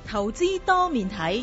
投資多面睇。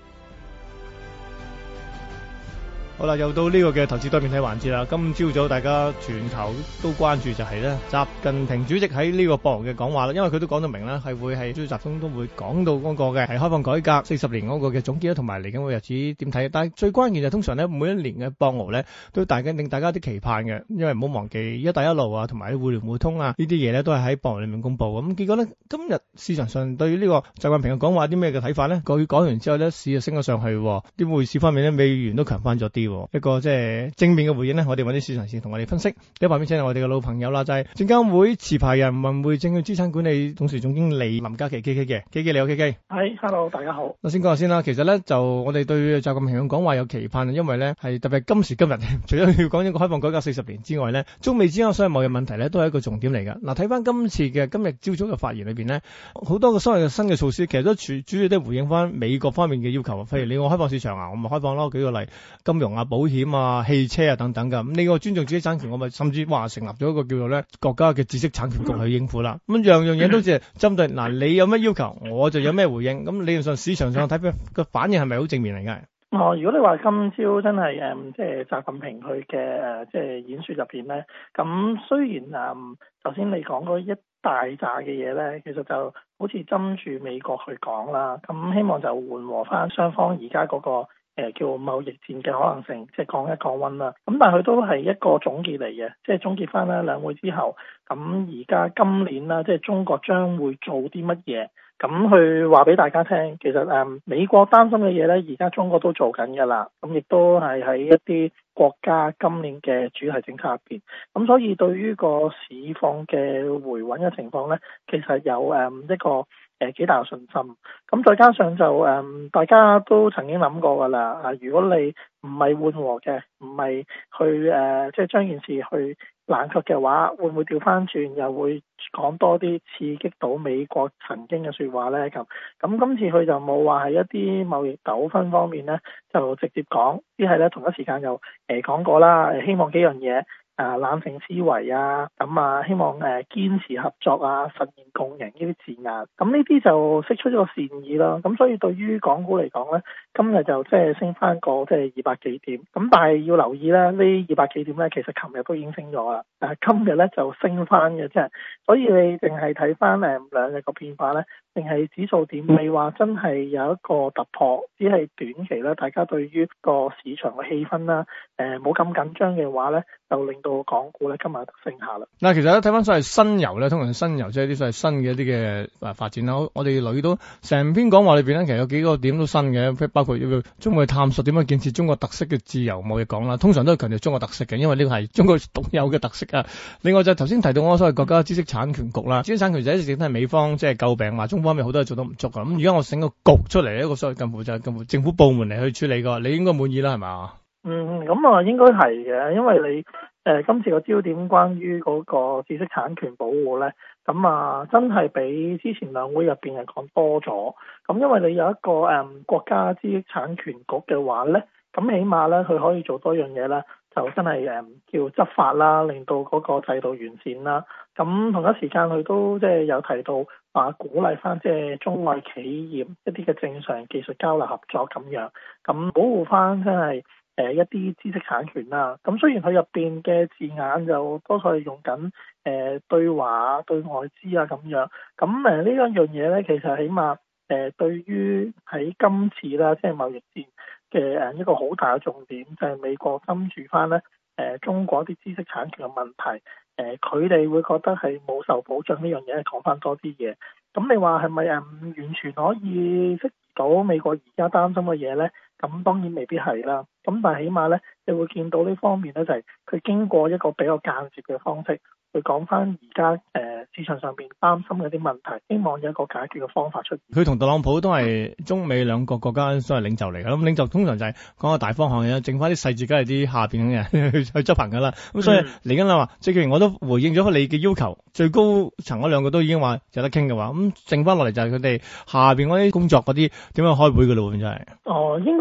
好啦，又到呢個嘅投資多面睇環節啦。今朝早大家全球都關注就係咧，習近平主席喺呢個博鰲嘅講話啦。因為佢都講到明啦，係會係主要集中都會講到嗰個嘅係開放改革40年嗰個嘅總結啦，同埋嚟緊個日子點睇。但係最關鍵就通常咧，每一年嘅博鰲咧都令大家啲期盼嘅，因為唔好忘記一帶一路啊，同埋互聯互通啊呢啲嘢咧都係喺博鰲裏面公布。咁結果咧，今日市場上對於呢個習近平嘅講話有啲咩嘅睇法咧？佢講完之後咧，市就升咗上去，啲匯市方面咧，美元都強翻咗啲。一個即係正面嘅回應咧，我哋揾啲市場先同我哋分析。第一旁邊請嚟我哋嘅老朋友啦，就係證監會持牌人宏匯證券資產管理董事總經理林嘉麒 KK 嘅 KK，你好 KK。 係，hello， 大家好。 我先講下先啦。其實咧就我哋對習近平嘅講話有期盼，因為咧係特別今時今日，除咗要講一個開放改革40年之外咧，中美之間所有貿易問題咧都係一個重點嚟㗎。嗱，睇翻今日朝早嘅發言裏邊咧，好多個所謂嘅新嘅措施，其實都主要都回應翻美國方面嘅要求。譬如你我開放市場啊，我咪開放咯。舉個例，金融啊、保險啊、汽車啊等等噶，咁呢個尊重知識產權，我咪甚至話成立咗一個叫做咧國家嘅知識產權局去應付啦。咁樣嘢都係針對嗱，你有咩要求，我就有咩回應。咁理論上市場上睇個反應係咪好正面嚟㗎？ 如果你話今朝真係即係習近平佢嘅即係演說入邊咧，咁雖然頭先你講嗰一大扎嘅嘢咧，其實就好似針住美國去講啦，咁希望就緩和翻雙方而家嗰個叫貿易戰嘅可能性，即係降一降溫啦。咁但係佢都係一個總結嚟嘅，即係總結翻咧兩會之後，咁而家今年啦，即係中國將會做啲乜嘢，咁去話俾大家聽。其實美國擔心嘅嘢咧，而家中國都做緊㗎啦。咁亦都係喺一啲國家今年嘅主題政策入邊。咁所以對於個市況嘅回穩嘅情況咧，其實有一個幾大嘅信心。咁再加上就大家都曾經諗過㗎啦。如果你唔係緩和嘅，唔係去即係將件事去冷卻嘅話，會唔會調翻轉又會講多啲刺激到美國曾經嘅説話呢？咁今次佢就冇話係一啲貿易糾紛方面呢，就直接講，只係咧同一時間又講過啦，希望幾樣嘢。冷靜思維啊，咁希望堅持合作啊，實現共贏呢啲字眼，咁呢啲就釋出咗個善意啦。咁所以對於港股嚟講咧，今日就即係升翻個即係200幾點，咁但係要留意咧，呢200幾點咧，其實琴日都已經升咗啦，今日咧就升翻嘅啫。所以你淨係睇翻兩日個變化咧，定係指數點未話真係有一個突破，只係短期咧，大家對於個市場嘅氣氛啦，冇咁緊張嘅話咧，就令到港股咧今日升下啦。 嗱，其實咧睇翻所謂新猷咧，通常新猷即係啲所謂新嘅一啲嘅發展啦。我哋留意到成篇講話裏邊咧，其實有幾個點都新嘅，包括要中國探索點樣建設中國特色嘅自由貿易港啦。通常都係強調中國特色嘅，因為呢個係中國獨有嘅特色啊。另外就頭先提到我所謂國家知識產權局啦，知識產權就一直都係美方即係詬病話中方面好多嘢做得唔足啊。咁而家我整個局出嚟，一個所謂近乎政府部門嚟去處理嘅，你應該滿意啦，係嘛？ 咁應該係嘅，因為你今次個焦點關於嗰個知識產權保護咧，咁真係比之前兩會入邊係講多咗。咁因為你有一個國家知識產權局嘅話咧，咁起碼咧佢可以做多樣嘢啦，就真係叫執法啦，令到嗰個制度完善啦。咁同一時間佢都即係有提到話鼓勵翻即係中外企業一啲嘅正常技術交流合作咁樣，咁保護翻真係一啲知識產權啦。咁雖然佢入邊嘅字眼就多數係用緊對華對外資啊咁樣，咁呢一樣嘢咧，其實起碼對於喺今次啦，即係貿易戰嘅一個好大嘅重點，就係美國跟住翻咧中國啲知識產權嘅問題，佢哋會覺得係冇受保障呢樣嘢，講翻多啲嘢。咁你話係咪完全可以適到美國而家擔心嘅嘢咧？咁當然未必係啦。咁但係起碼咧，你會見到呢方面咧，就係佢經過一個比較間接嘅方式去講翻而家市場上邊擔心嘅啲問題，希望有一個解決嘅方法出現。 佢同特朗普都係中美兩個國家所謂領袖嚟嘅，咁領袖通常就係講個大方向嘅，剩翻啲細節梗係啲下邊嘅人去執行㗎啦。咁所以嚟緊啦話，即係既然我都回應咗你嘅要求，最高層嗰兩個都已經話有得傾嘅話，咁剩翻落嚟就係佢哋下邊嗰啲工作嗰啲點樣開會㗎咯，真係。 應該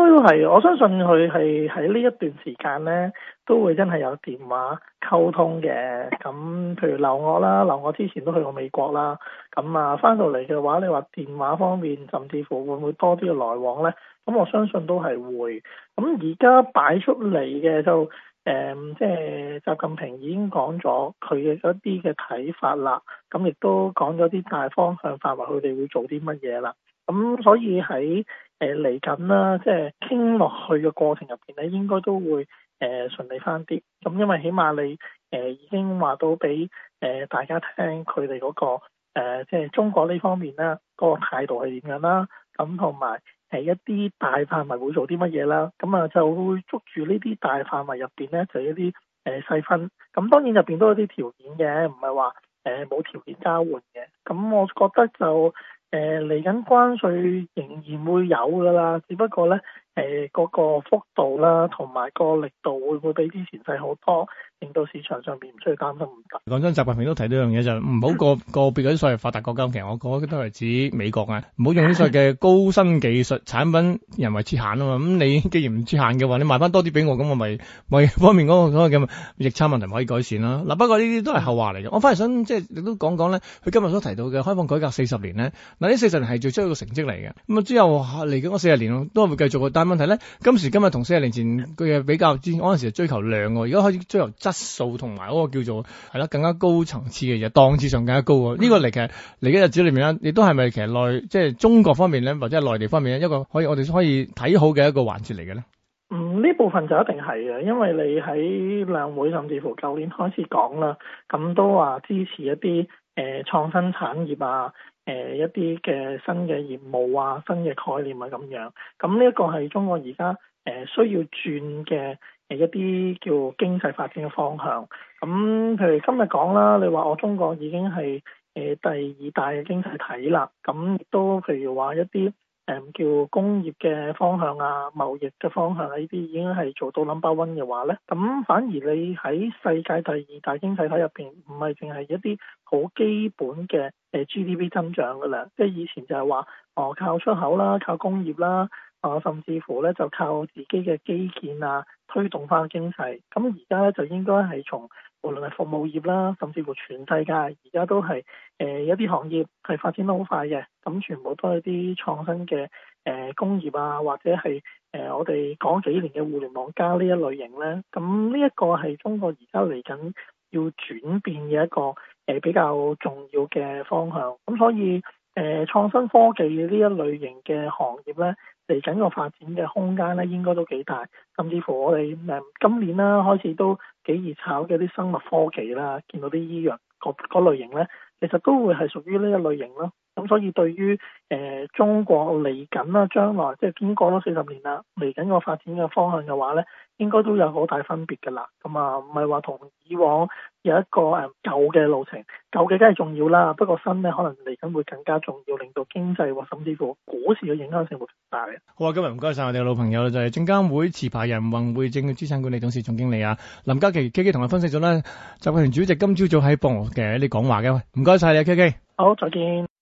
係，我相信佢係喺呢一段時間咧，都會真係有電話溝通嘅。咁譬如留我啦，留我之前都去過美國啦。咁啊，翻到嚟嘅話，你話電話方面，甚至乎會唔會多啲嘅來往咧？咁我相信都係會。咁而家擺出嚟嘅就即係習近平已經講咗佢嘅一啲嘅睇法啦。咁亦都講咗啲大方向範圍，佢哋會做啲乜嘢啦。咁所以喺嚟緊啦，即係傾落去嘅過程入邊咧，應該都會順利翻啲。咁因為起碼你已經話到俾大家聽佢哋嗰個即係中國呢方面啦，嗰個態度係點樣啦。咁同埋一啲大範圍會做啲乜嘢啦。咁啊就會捉住呢啲大範圍入邊咧，就一啲細分。咁當然入邊都有啲條件嘅，唔係話冇條件交換嘅。咁我覺得就嚟緊關稅仍然會有㗎啦，只不過咧嗰個幅度啦，同埋個力度會唔會比之前細好多，令到市場上邊唔需要擔心咁大。 講真，習近平都提到一樣嘢，就唔好個別嗰啲所謂發達國家，其實我覺得都係指美國啊，唔好用啲所謂嘅高新技術產品人為設限啊嘛。咁你既然唔設限嘅話，你賣翻多啲俾我，咁我咪方面嗰個嘅逆差問題可以改善啦。嗱，不過呢啲都係後話嚟嘅。我反而想即係亦都講講咧，佢今日所提到嘅開放改革40年咧，嗱呢40年係做出一個成績嚟嘅。咁啊之後嚟緊嗰40年都係會繼續嘅。但係問題咧，今時今日同40年前佢嘅比較之前，嗰陣時係追求量喎，而家開始追求質素同埋嗰個叫做係啦更加高層次嘅嘢，檔次上更加高喎。呢個嚟其實嚟緊日子裏面咧，亦都係咪其實即係中國方面咧，或者係內地方面咧，一個我哋可以睇好嘅一個環節嚟嘅咧？ 呢部分就一定係嘅，因為你喺兩會甚至乎舊年開始講啦，咁都話支持一啲創新產業啊，一啲嘅新嘅業務啊，新嘅概念啊咁樣。咁呢一個係中國而家需要轉嘅一啲叫經濟發展嘅方向。咁譬如今日講啦，你話我中國已經係第2大嘅經濟體啦，咁亦都譬如話一啲叫工業嘅方向啊，貿易嘅方向啊，呢啲已經係做到 No.1 嘅話咧，咁反而你喺世界第2大經濟體入邊，唔係淨係一啲好基本嘅GDP 增長噶啦，即係以前就係話靠出口啦，靠工業啦，甚至乎咧就靠自己嘅基建啊推動翻經濟。咁而家咧就應該係從無論係服務業啦，甚至乎全世界而家都係一啲行業係發展得好快嘅，咁全部都係啲創新嘅工業啊，或者係我哋講幾年嘅互聯網加呢一類型咧，咁呢一個係中國而家嚟緊要轉變嘅一個比較重要嘅方向。咁所以創新科技呢一類型嘅行業咧，嚟緊個發展嘅空間咧應該都幾大，甚至乎我哋今年啦開始都幾熱炒嘅啲生物科技啦，見到啲醫藥嗰類型咧，其實都會係屬於呢一類型咯。咁所以對於中國嚟緊啦，將來即係經過咗40年啦，嚟緊個發展嘅方向嘅話咧，應該都有好大分別㗎啦。咁啊，唔係話同以往有一個舊嘅路程，舊嘅梗係重要啦，不過新咧可能嚟緊會更加重要，令到經濟或甚至乎股市嘅影響性會更大嘅。 好啊，今日唔該晒我哋嘅老朋友就係證監會持牌人宏匯證券資產管理董事總經理啊林嘉麒 KK 同我分析咗咧習近平主席今朝早喺博鰲嘅一啲講話嘅，唔該晒你啊 KK。 好，再見。